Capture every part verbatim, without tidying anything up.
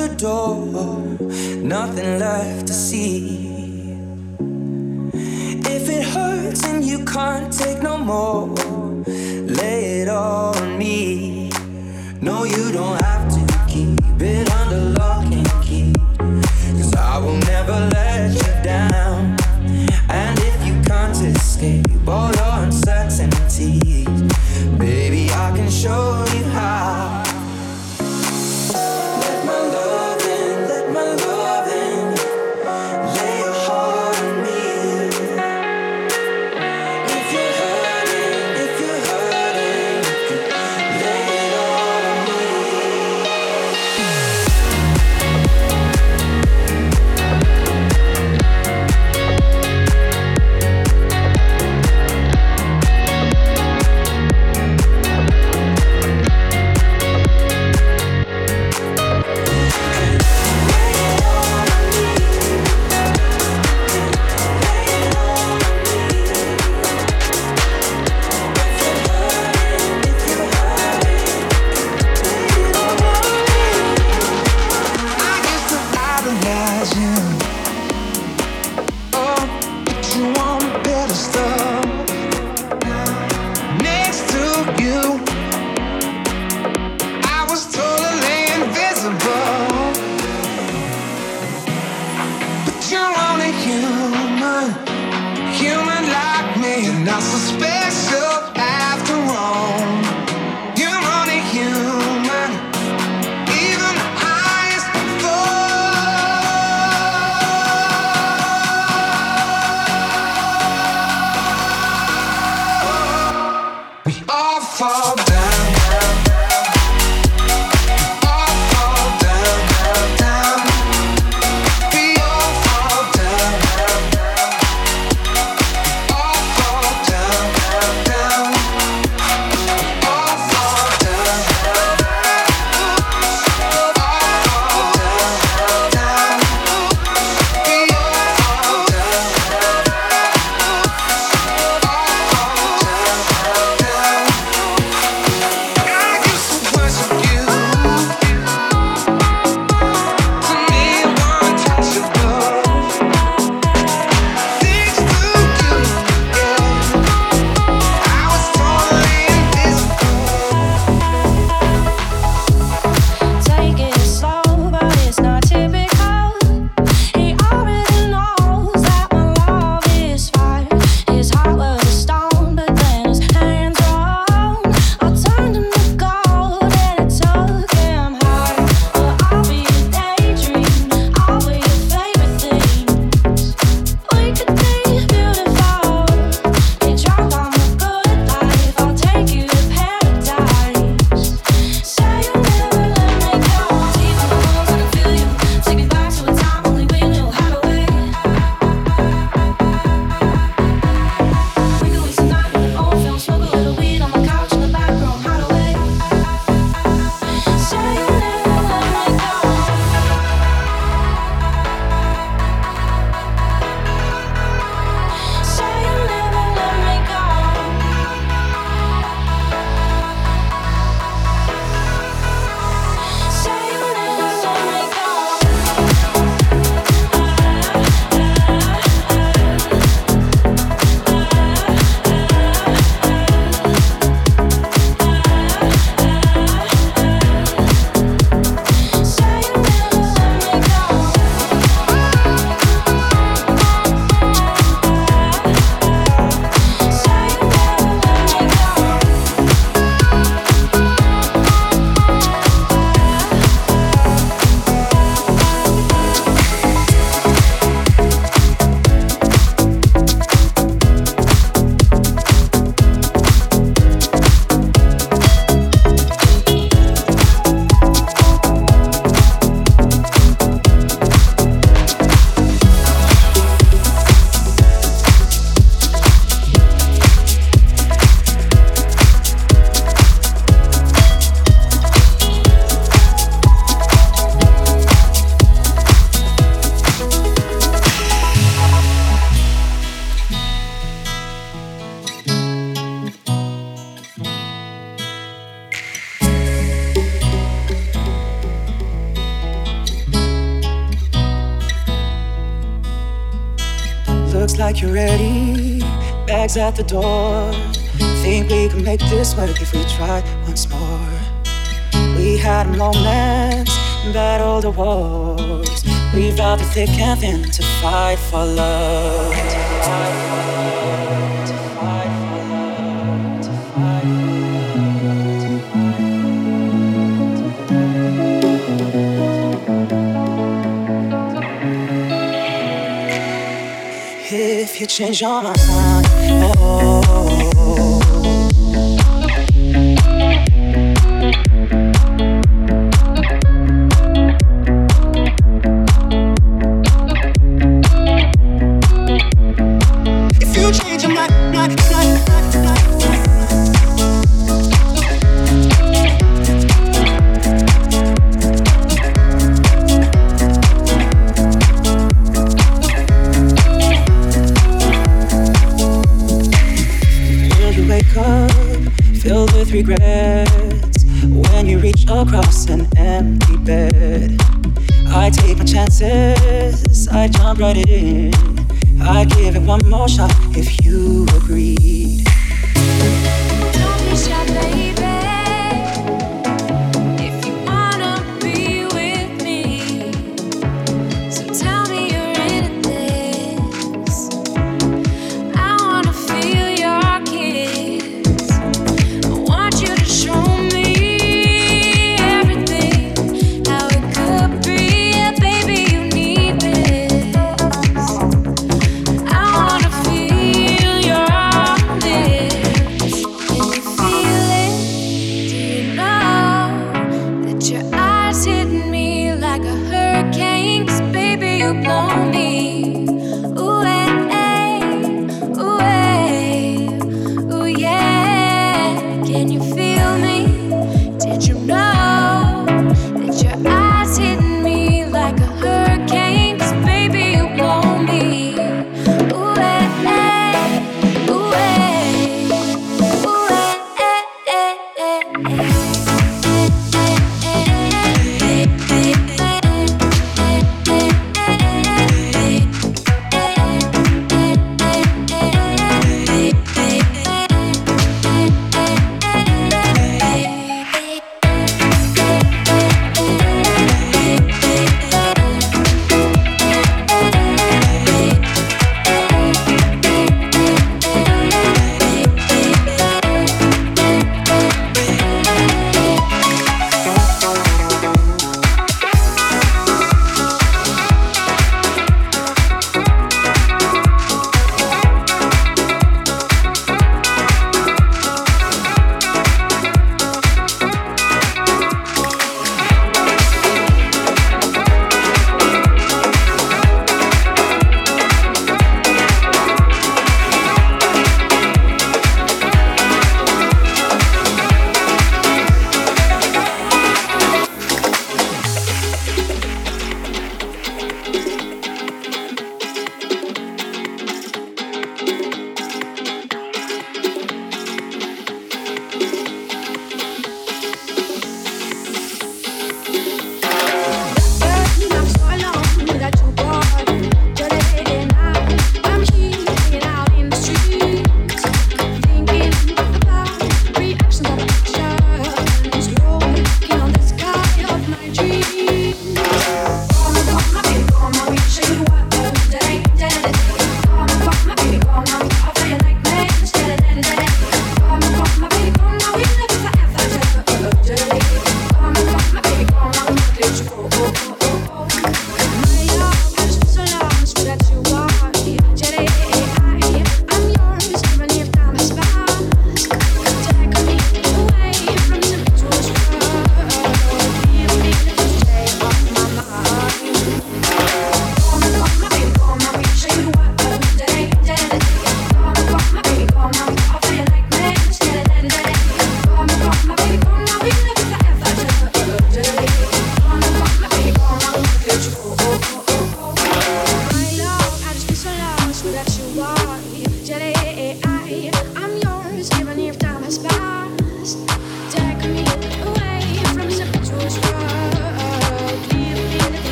the door, nothing left to see. If it hurts and you can't take no more, lay it all on me. No, you don't have to keep it under lock and key, 'cause I will never let you down. And if you can't escape all your uncertainties, baby, I can show you how. Let my love in, let my love in. Lay your heart on me. If you're hurting, if you're hurting, you can lay it all on me. Looks like you're ready, bags at the door. Think we can make this work if we try once more. We had moments, battled the wars. We vowed through thick and thin to fight for love. To fight for love, to fight for love, to fight for love. If you change your mind, oh. Filled with regrets when you reach across an empty bed. I take my chances, I jump right in. I'd give it one more shot if you agreed. Don't be shy, baby. If you wanna be with me, so tell me you're in this. I wanna feel your kiss. I want you to show me everything, how it could be. Yeah, baby, you need this. I wanna feel your lips. Can you feel it?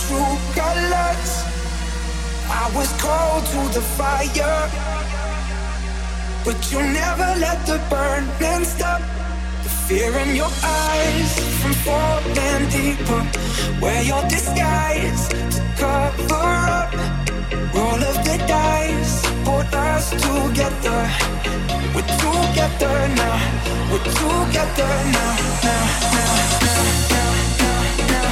true colors. I was cold to the fire, but you never let the burning stop. The fear in your eyes from falling deeper. Wear your disguise to cover up. Roll of the dice, put us together. We're together now. We're together now, now, now, now, now, now,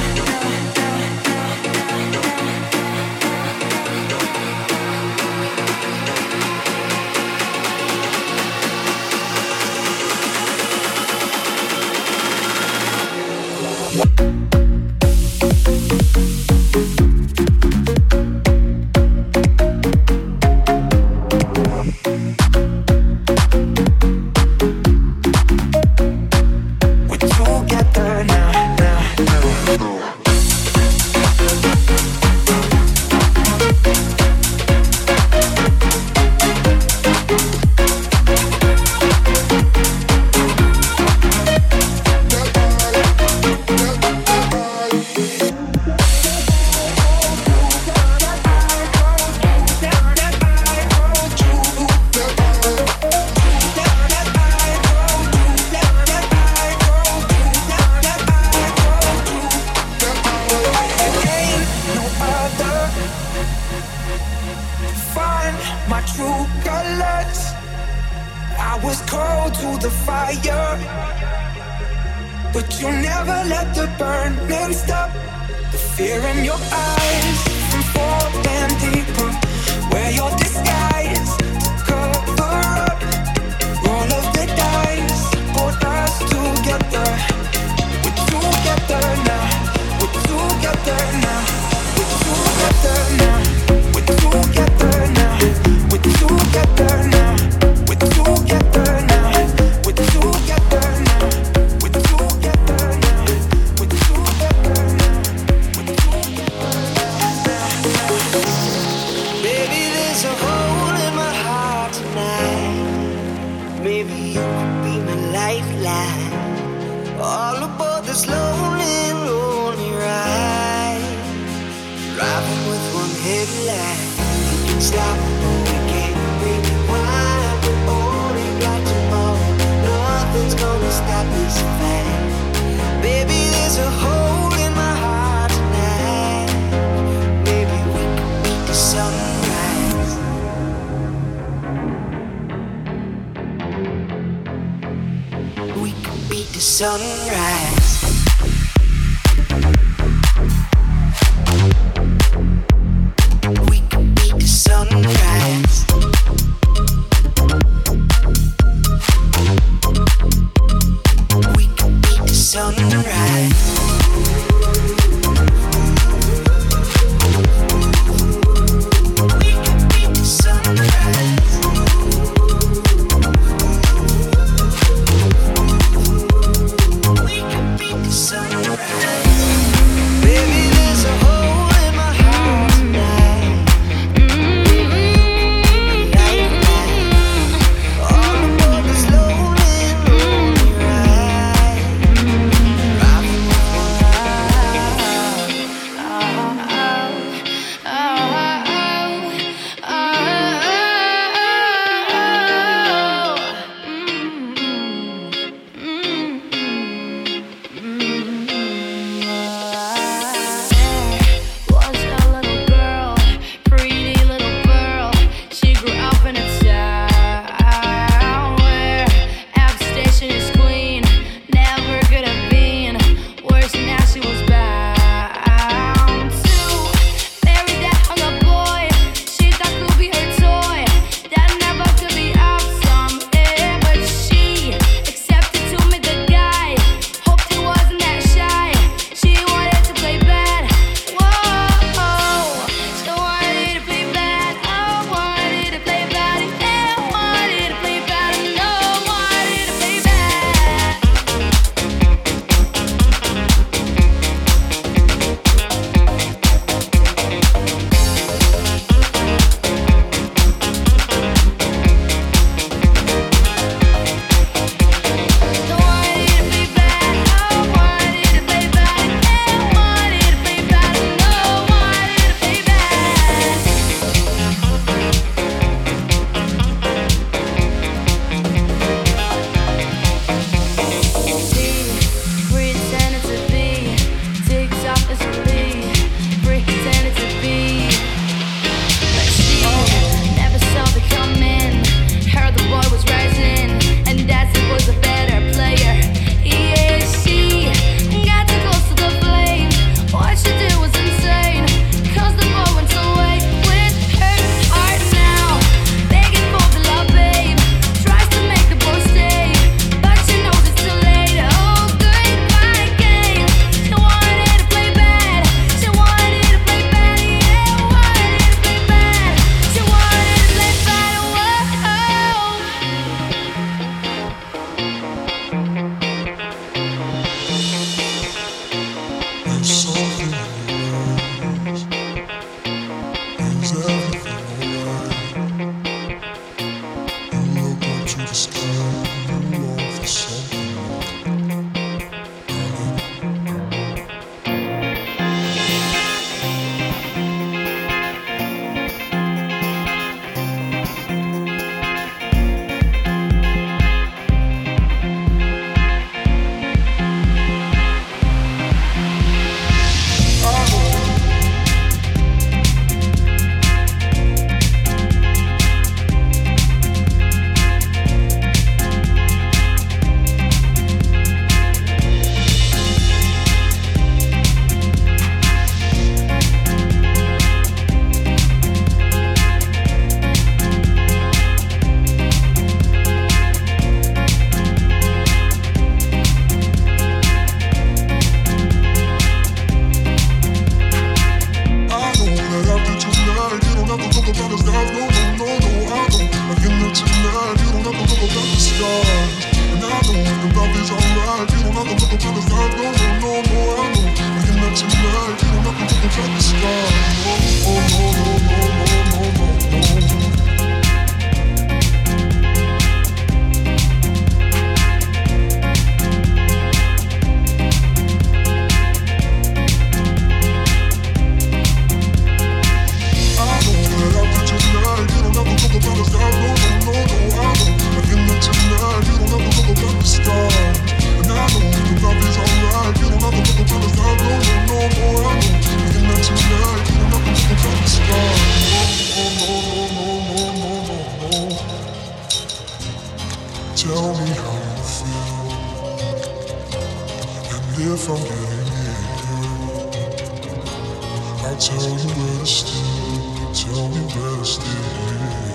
if I'm getting near. I'll tell you where to stay, tell me where to stay.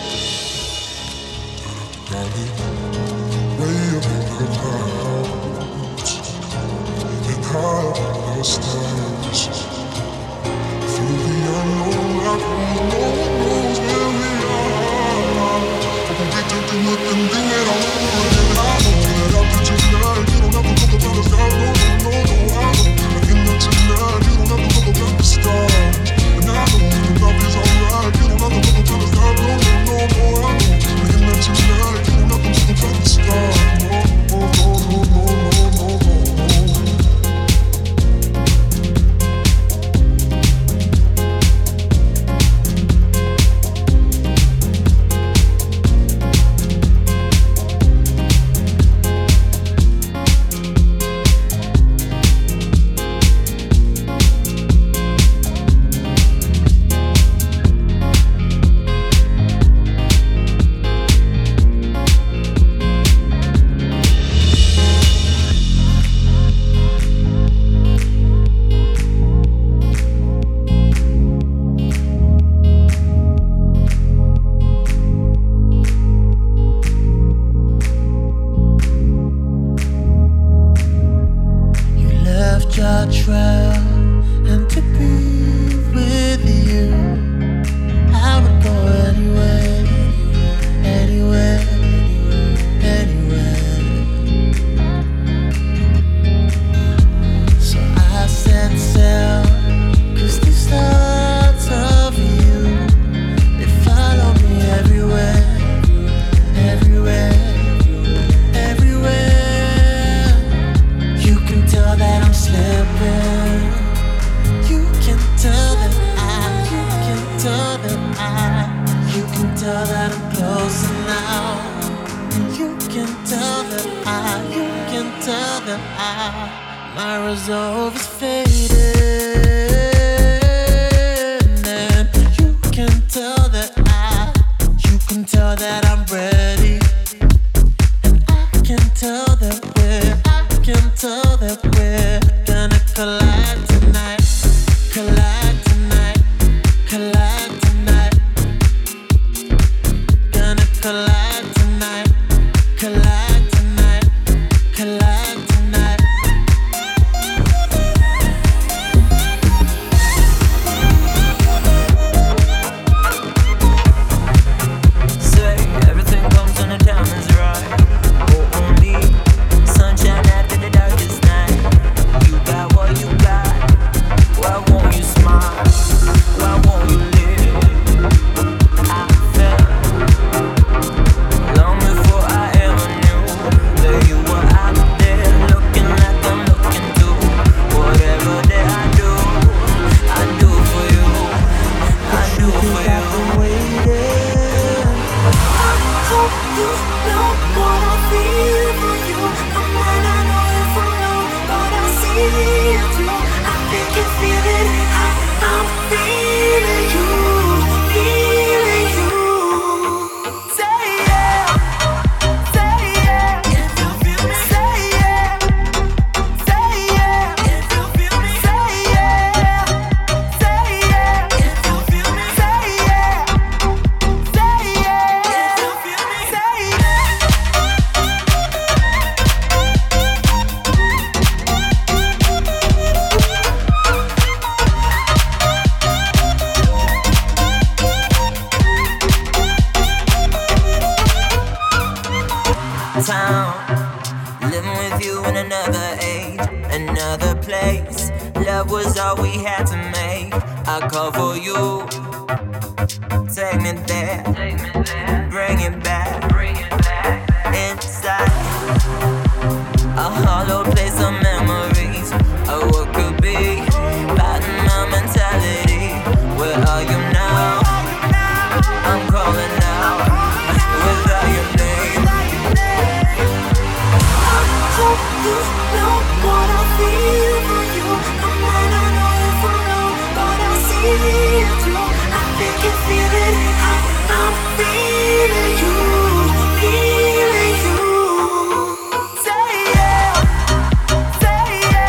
Darling, way up in the clouds and high up in the stars. Through the unknown, like no one knows where we are. But we take a look and do it all over again. I know that after tonight, you don't have to look around the sky. No, no, no, no, I know. Again, that tonight, you don't have to look around the stars. And I know that love is alright. You don't have to look around the sky. No, no, no, no, I know. Again, that tonight, you don't have to look around the stars. No, no, no, no, no, no, no, no. Say yeah, say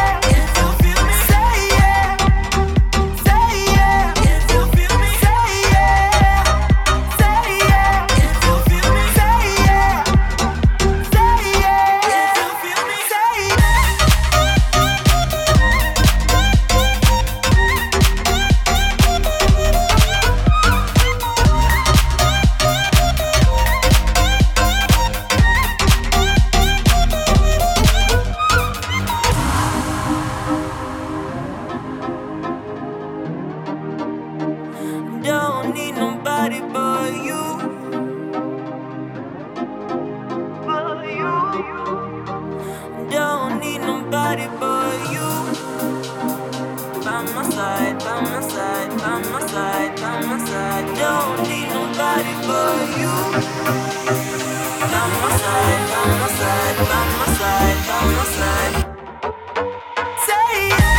nobody but you. By my side, by my side, by my side, by my side. Don't need nobody but you. By my side, by my side, by my side, by my side. Say yeah.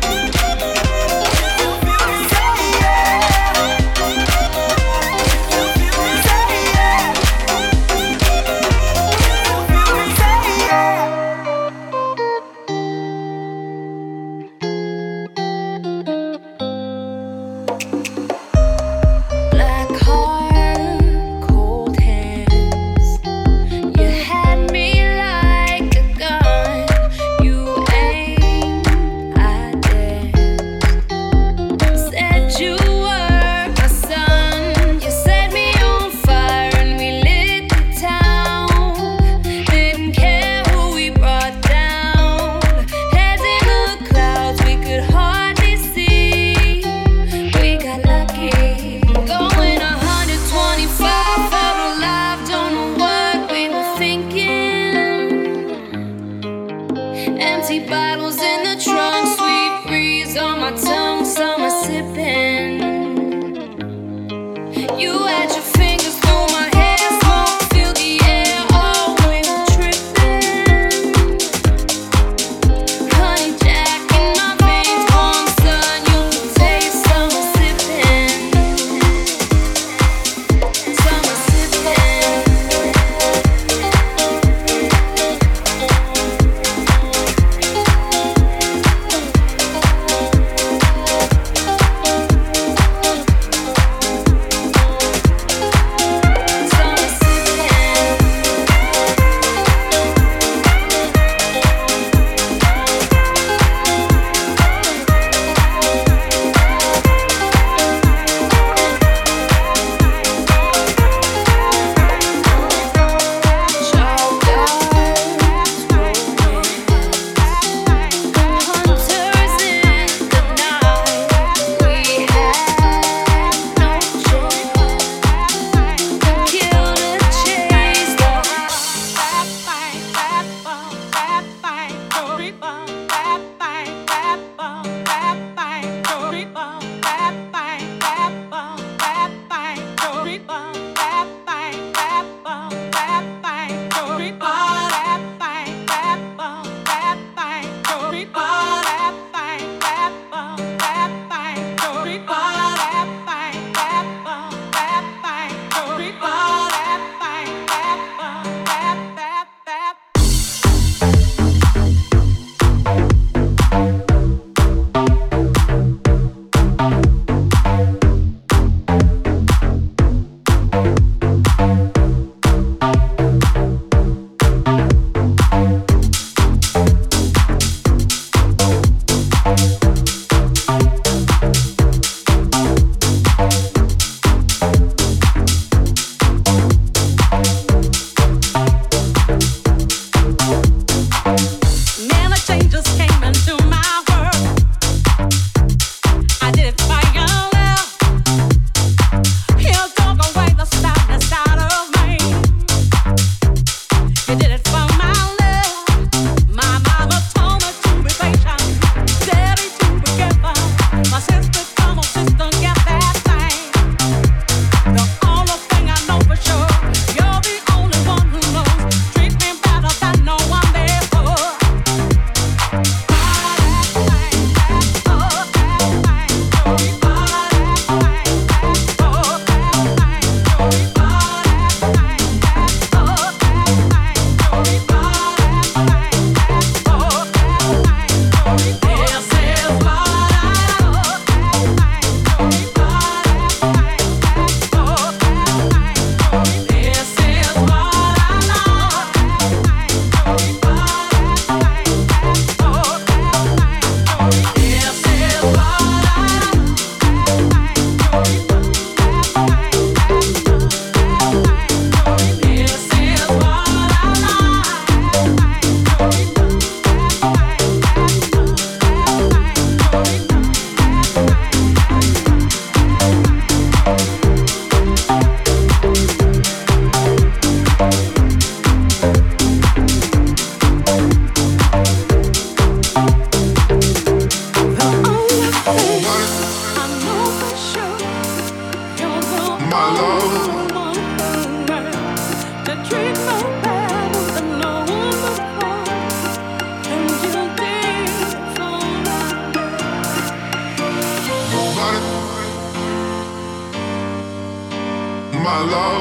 Say yeah.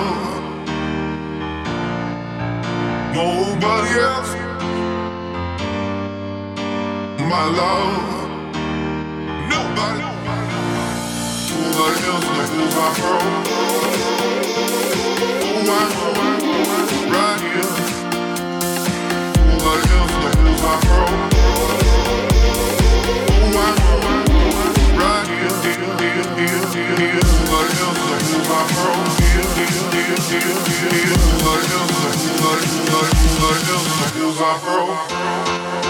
love. Nobody else. My love. Nobody. Nobody else like this I grow. Oh, I grow right here. Nobody else like this I grow. Oh, I grow right here, here, here, here, here, here. Nobody else like this I grow. Here, here, here, here, here, here. Nobody else like, nobody, nobody, nobody else like this I grow.